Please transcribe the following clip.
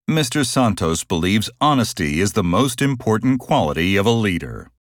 Mr. Santos believes honesty is the most important quality of a leader.